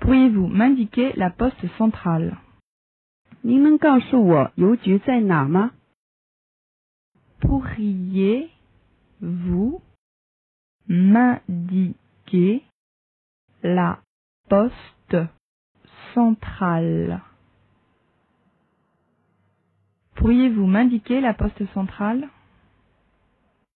Pourriez-vous m'indiquer la poste centrale? 您能告诉我邮局在哪儿吗？ Pourriez-vous m'indiquer la poste centrale? Pourriez-vous m'indiquer la poste centrale?